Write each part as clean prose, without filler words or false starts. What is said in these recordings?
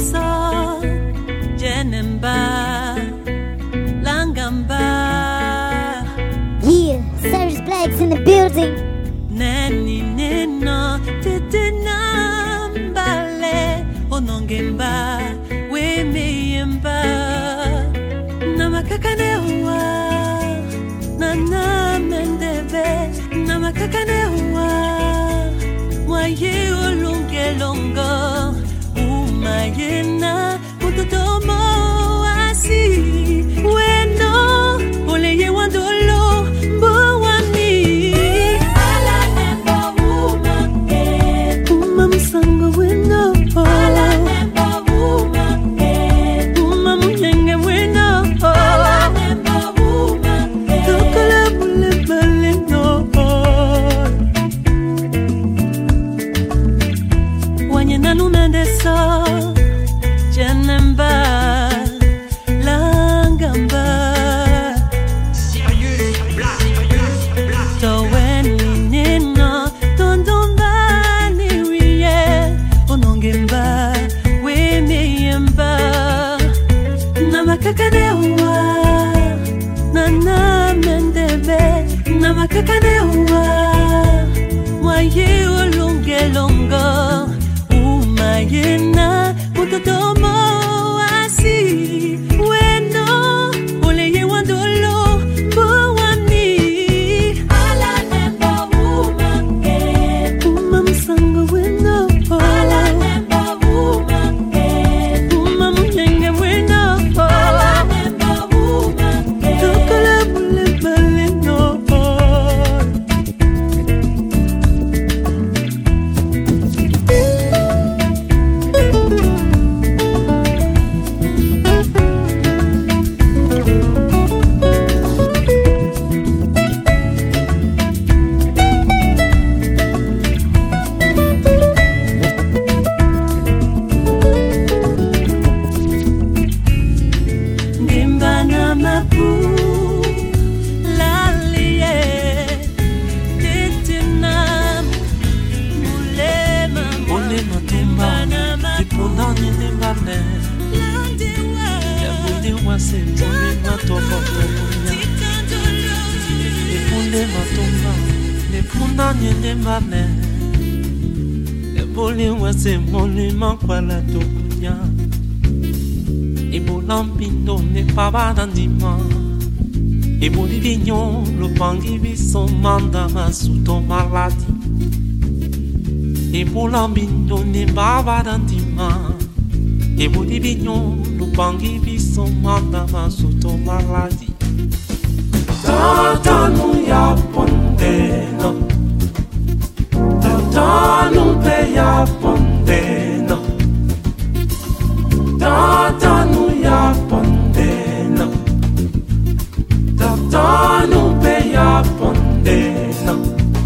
so Jenemba Langamba. Yeah, Cyrus Black's in the building. Nani neno tetenambale onongemba we meyemba namakakanewa nana mendebe namakakanewa mwaye olungelongo umayena utotomo asi weno oleye wandolo mbowani Sango wino, ala nemba wuma, uma munyenge wino, ala nemba wuma, tokala mule baleno. Wanye nanu mendeso, jenemba, langamba. Sérieux, bla. Toweni nino, tondonda. Onongemba, we meyemba Namakakanewa, nana mendebe Namakakanewa, mwaye olungelongo Umayena, mutotomo asi Weno, oleye wandolo, mbowani Ala nemba wumake Umamsango weno E Bolivignon, lo pangi viso manda ma sotto malati. E Bolambino ne bava dantima. E Bolivignon, lo pangi viso manda ma sotto malati. Tata nu ya pondeno. Tata nu pe ya pondeno. Tata nu ya pondeno. Tanu pe ya pondena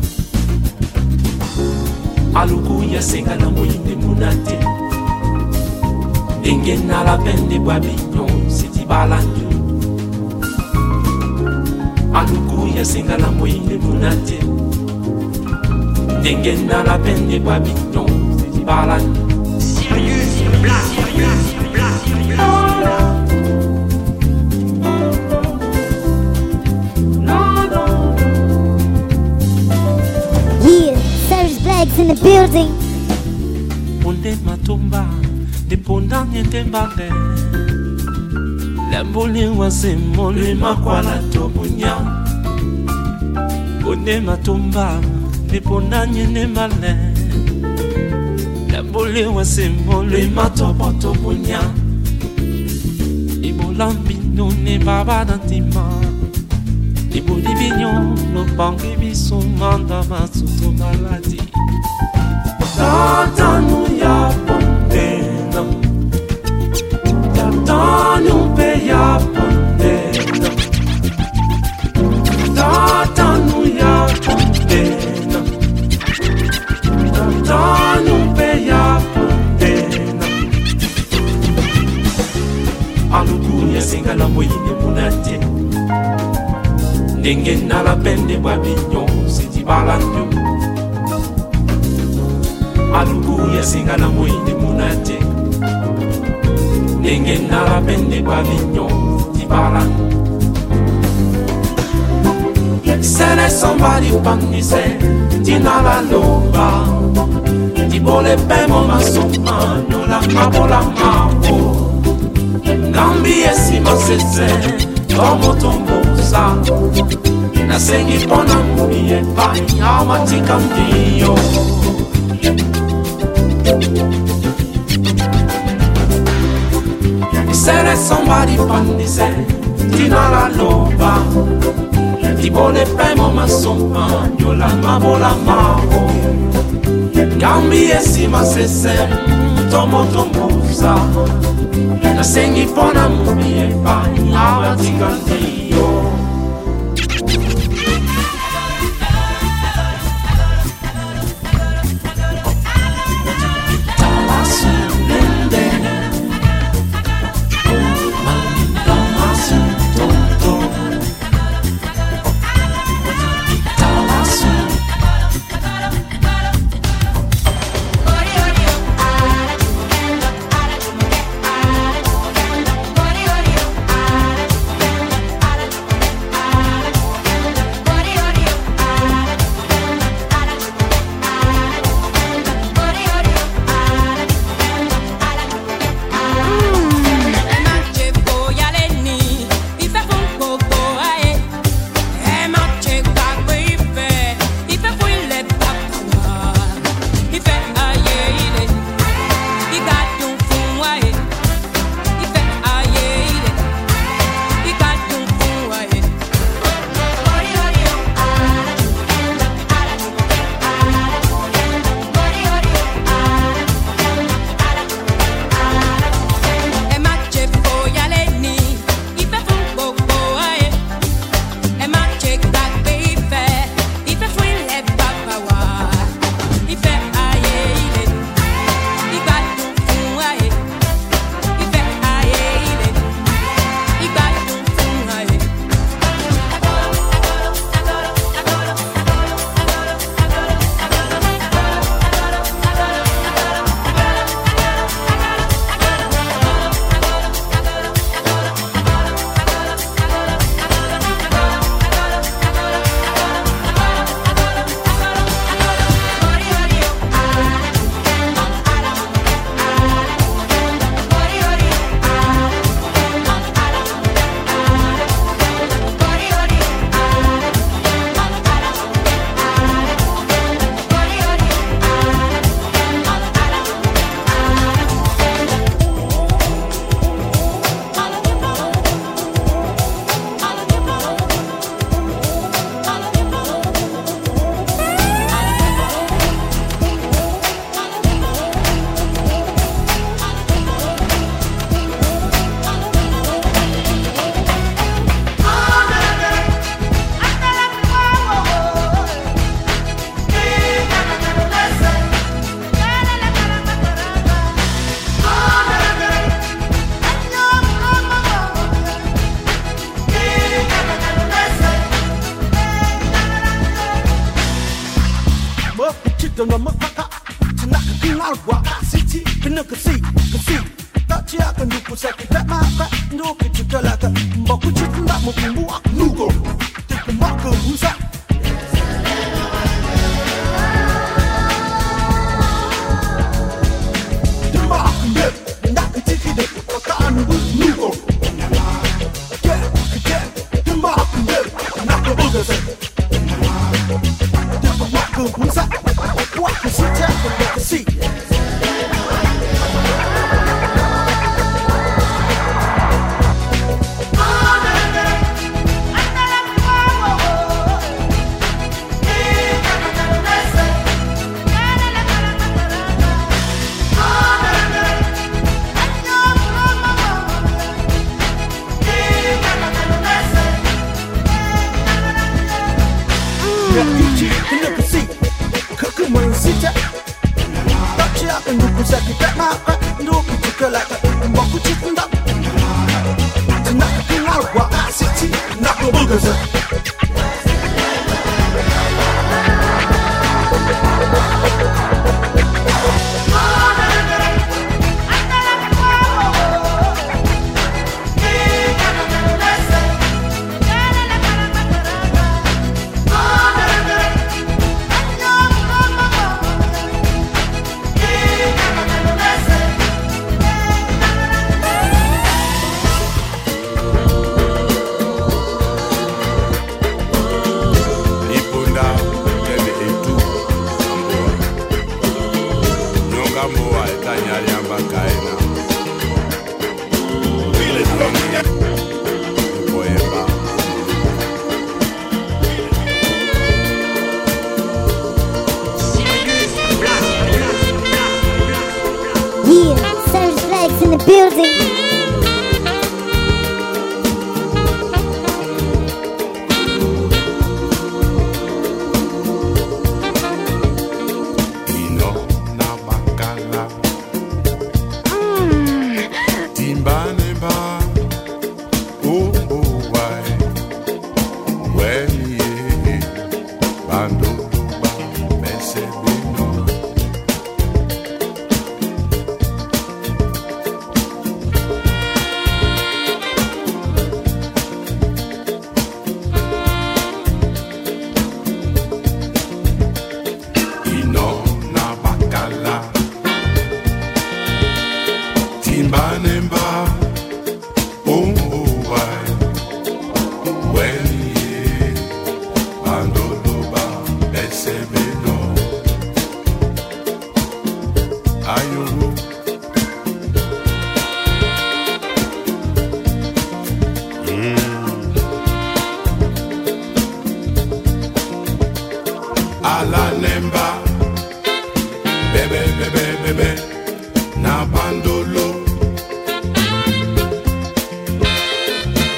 Aluku ya senga na moyinde munate Denge na la pende babignon siti balandu Aluku ya senga na moyinde munate Denge na la pende babignon siti balandu Sérieux, bla. In the building. Ponde matumba, de ponda niente mbale. Lamboli wase mole makwala tobunya. Ponde matumba, de ponda niente mbale. Lamboli wase mole matobo tobunya. Ibo lambino ne baba dantima. Ibo divignon, lo pangi biso manda masuto maladi. Tata nu ya pondena. Tata nu pe ya pondena. Tata nu ya pondena. Tata nu pe ya pondena. Aluku ya singa la moyine munate. Ndenge na la pende babignon siti balandu. Aluku ya singa na moyinde munate engena la bende pavignon di balan. Se ne somebody pandise di nala loba di bole pemo masoma no la mabola mabo gambi esima sese tomo tombosa na sengi pona mubie pai amati candio. Se ne somebody pandise di nala loba di bole pemo masoma no la mabola mabo gambi esima sese tomo tombosa na sengi pona mubie pai amati candio.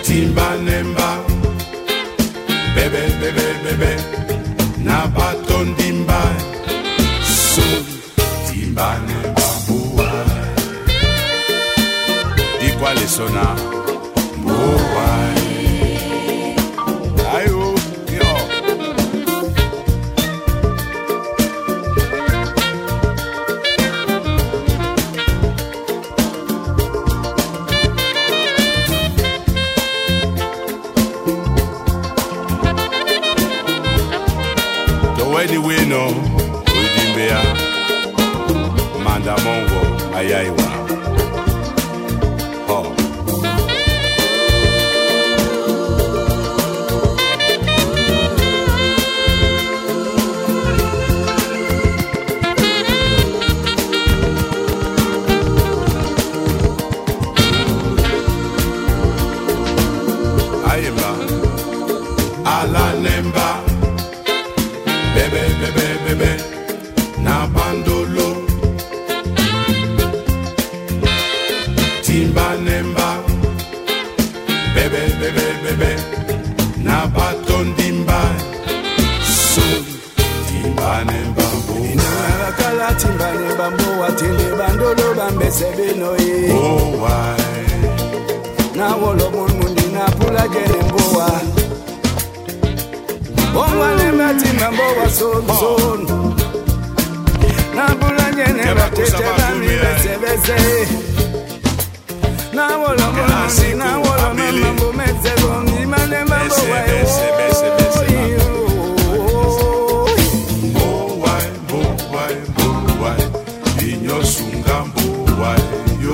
Timba nemba, bebe bebe bebe, na baton dimba, so timba nemba boa. Di quale sona boa. Ayo yo. Anyway, no, Udimbea, Manda Mongo, Ayaiwa. Oh. Ayemba, Ala Nemba. Bebe, bebe, bebe, na bandolo, timba nemba, bebe, bebe, bebe, na baton dimba, so timba nemba boa. Kala timba nemba boa, tende bandolo bambese benoye. Oh why? Na wolo mundi na pula jene boa. Bongwane mati mambo son na bulanye ne batete bami bese na wolo mundi na wolo mambo meze bongi mane mambo why inyo sungambo why yo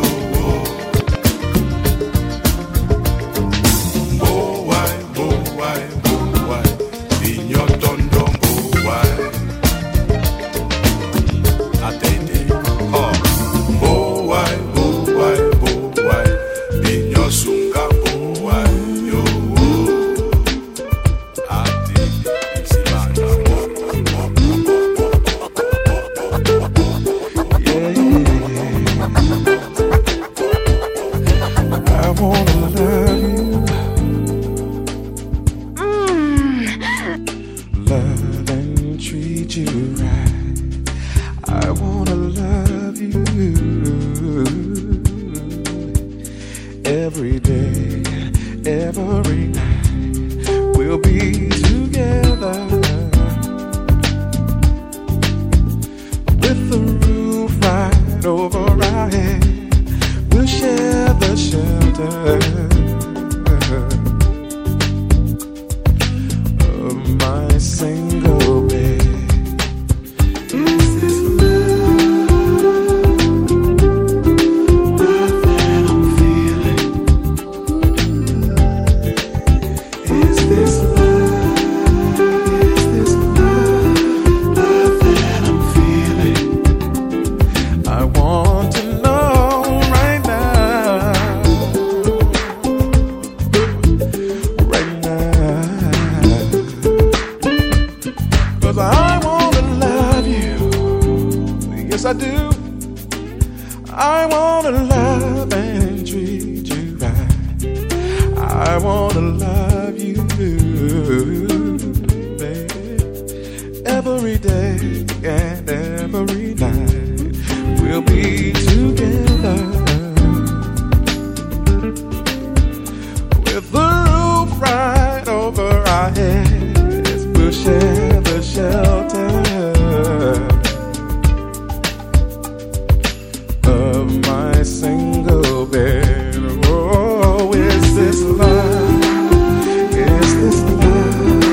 Is this love?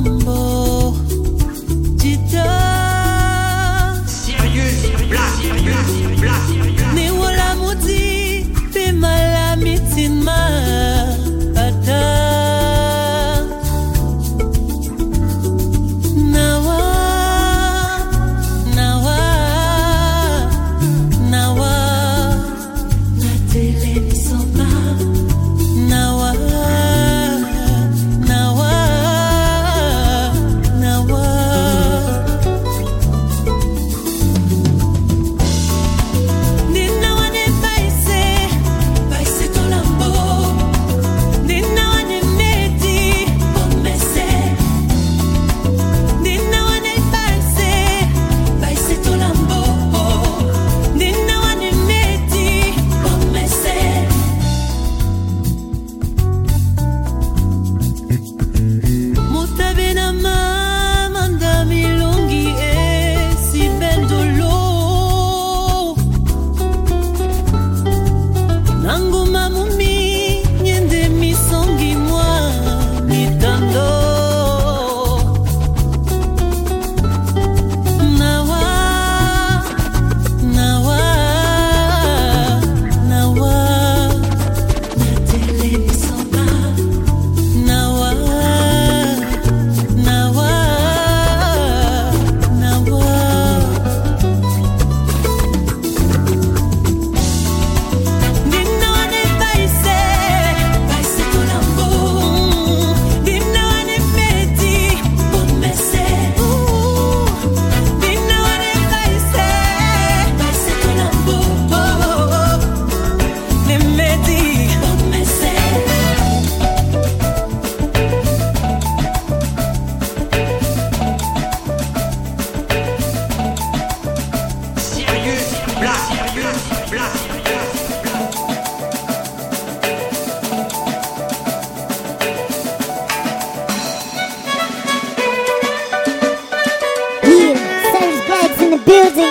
Tolambo, Jita, Sirius Black. Ni wala mudi, pe malamitima, Pata. Nawa, na tele ni soba. Nawa. building.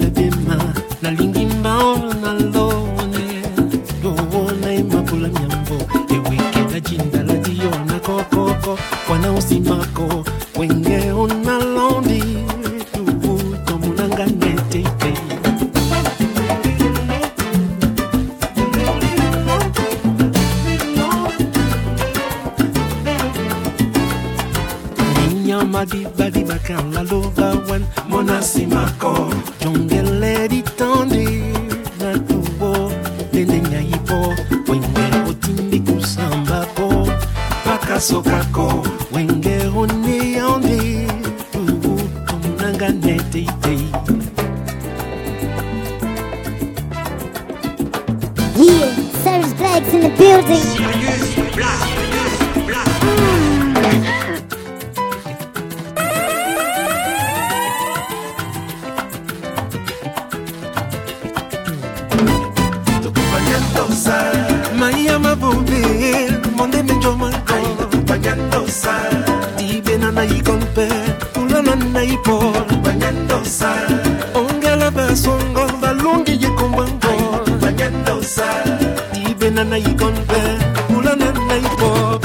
bema na lingi mbao na lone Yona imapula nyambo Eweke la jinda la diona kokoko Wana usimako Wenge ona londi Tuvuto munanga nete Madiba diba kan la lova wan Monasimako Jongele di tandi Na tubo Nene nyaipo Wenge otindi kusambako Pakasokako Wenge honi yondi Tubu Tomunanga nete ite Yeah, Serge Black's in the building. Sirius Black. Maya mabubi, monde menjo manko Panyando sa Dibe na na ikonpe, ulana na ipo Panyando sa Ongela basongo, balungi yikombango Panyando sa Dibe na na ikonpe, ulana na ipo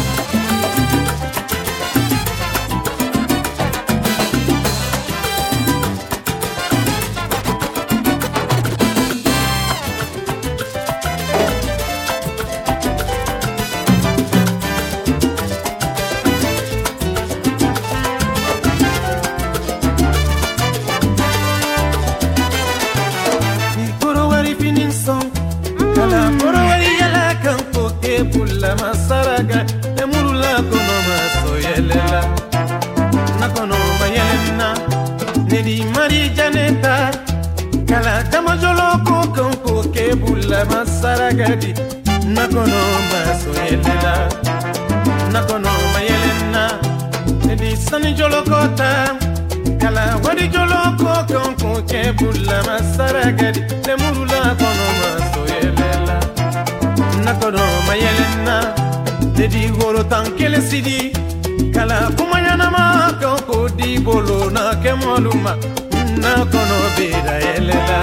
Masaraga emurula kono masoyelela nakono mayelena nedi mari janeta kala tamajolo ko kebula masaraga di nakono masoyelela nakono mayelena nedi sani jolo kota kala wadi jolo ko kebula masaraga di emurula kono masoyelela nakono mayelena dedi goro tankele sidi kala kumayana ma ko di bolo na kemoluma nakono beda yelela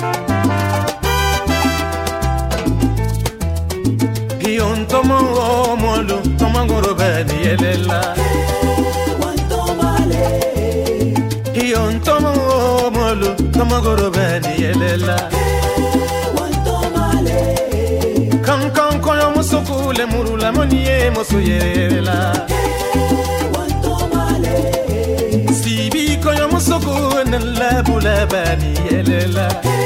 gion tomo molo tomangoro bedi yelela gion tomo molo tomangoro bedi yelela Kan koyo musuku le murula moniye musuyela Sibi koyo musuku nala bula bani yelela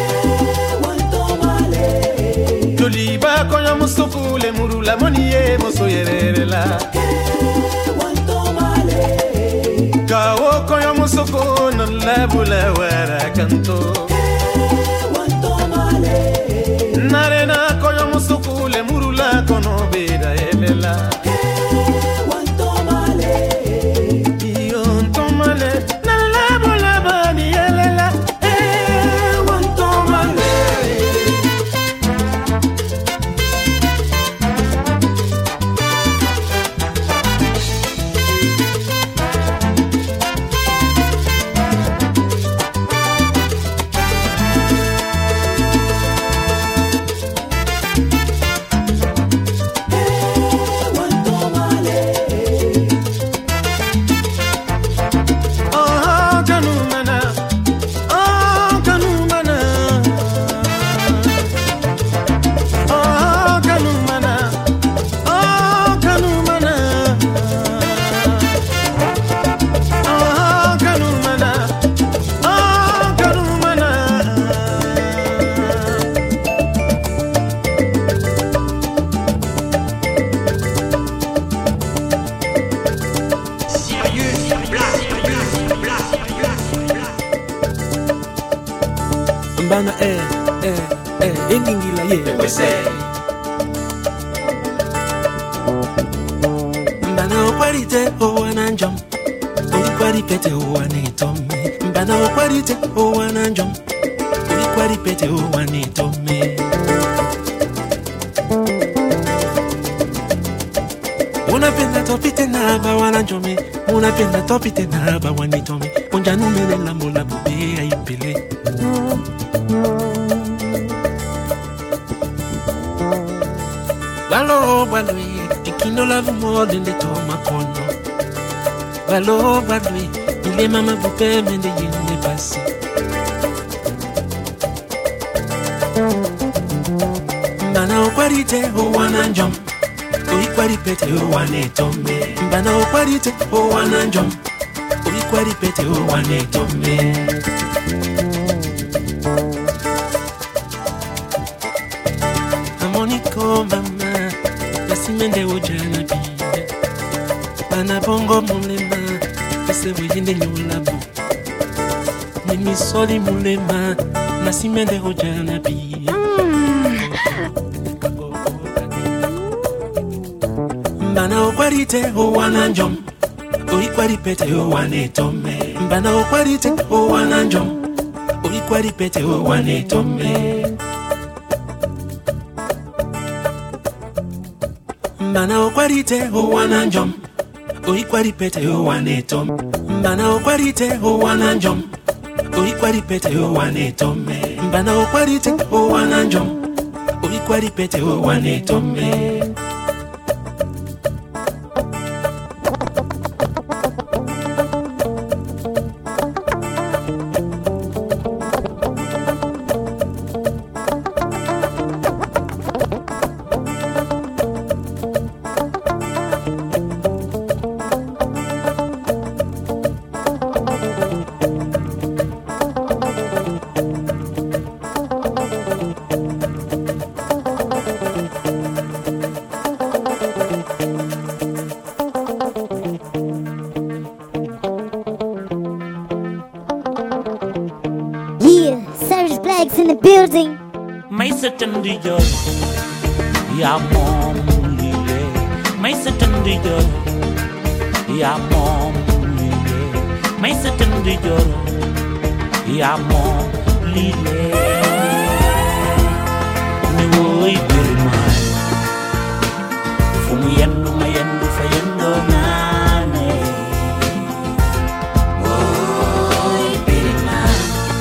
Joliba koyo musuku le murula moniye musuyela Kawo koyo musuku nala bula wara kanto Narena koyo musuku le murula kono beda yelela Iyon tomale nala bola bani yelela wan tomale Bana ingingila ye wese Bana okwarite owananjom Olikwaripete owanitome Bana okwarite owananjom Olikwaripete owanitome Unapenda topite na bawananjome Unapenda topite na bawanitome Onja numele la mola bube aipele Balo balwe ikino la vumole ndeto makono Balo balwe ile mama bupe mende yende basi Mbana okwarite owana njom Oikwaripete owane tombe Mbana okwarite owana njom Oikwaripete owane tombe Amoniko mama Yasimende ojana biye Bana bongo mulema Ese weyende nyolabu Nimi soli mulema Nasimende ojana biye Mbana okwarite owana njom Oikwaripete owane tombe Mbana okwarite owana njom Oikwaripete owane tombe Mbana okwarite owana njom Oikwaripete owane tombe Mbana okwarite owana njom Oikwaripete owane tombe Mbana okwarite owana njom Oikwaripete owane tombe In the building. My certain joy, ya mom lile. My certain joy, ya mom lile. My certain joy, ya mom lile. Me voy per mai. Fumuyendo mayendo fayendo nane. Voy per mai.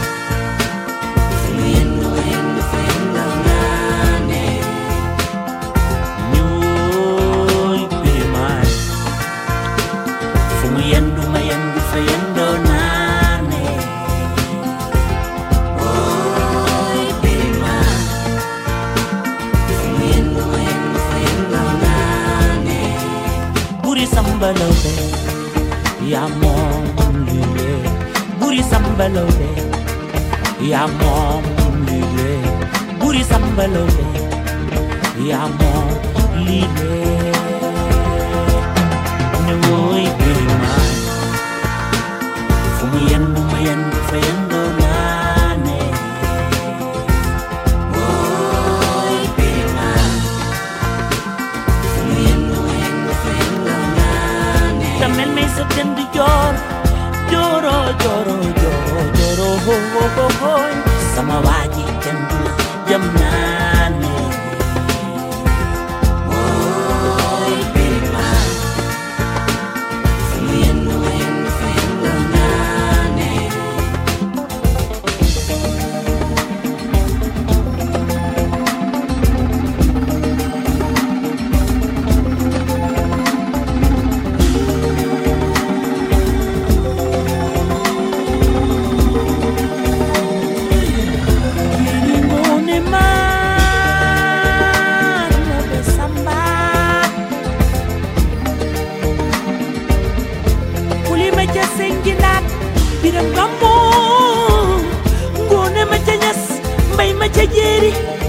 Sambalode, ya mom lile. Buri sambalode, ya mom lile. Buri sambalode, ya mom lile. Ne voy pirma, fumuyendo mayendo fayendo nane. Voy pirma, fumuyendo mayendo fayendo nane. Tamel me se tendi lloro, ho ho ho. Sama waji tendi jamnane. Voy pirma, fumuyendo mayendo fayendo nane. Biram gambo ngone ma ca ñas mbay ma ca jeeri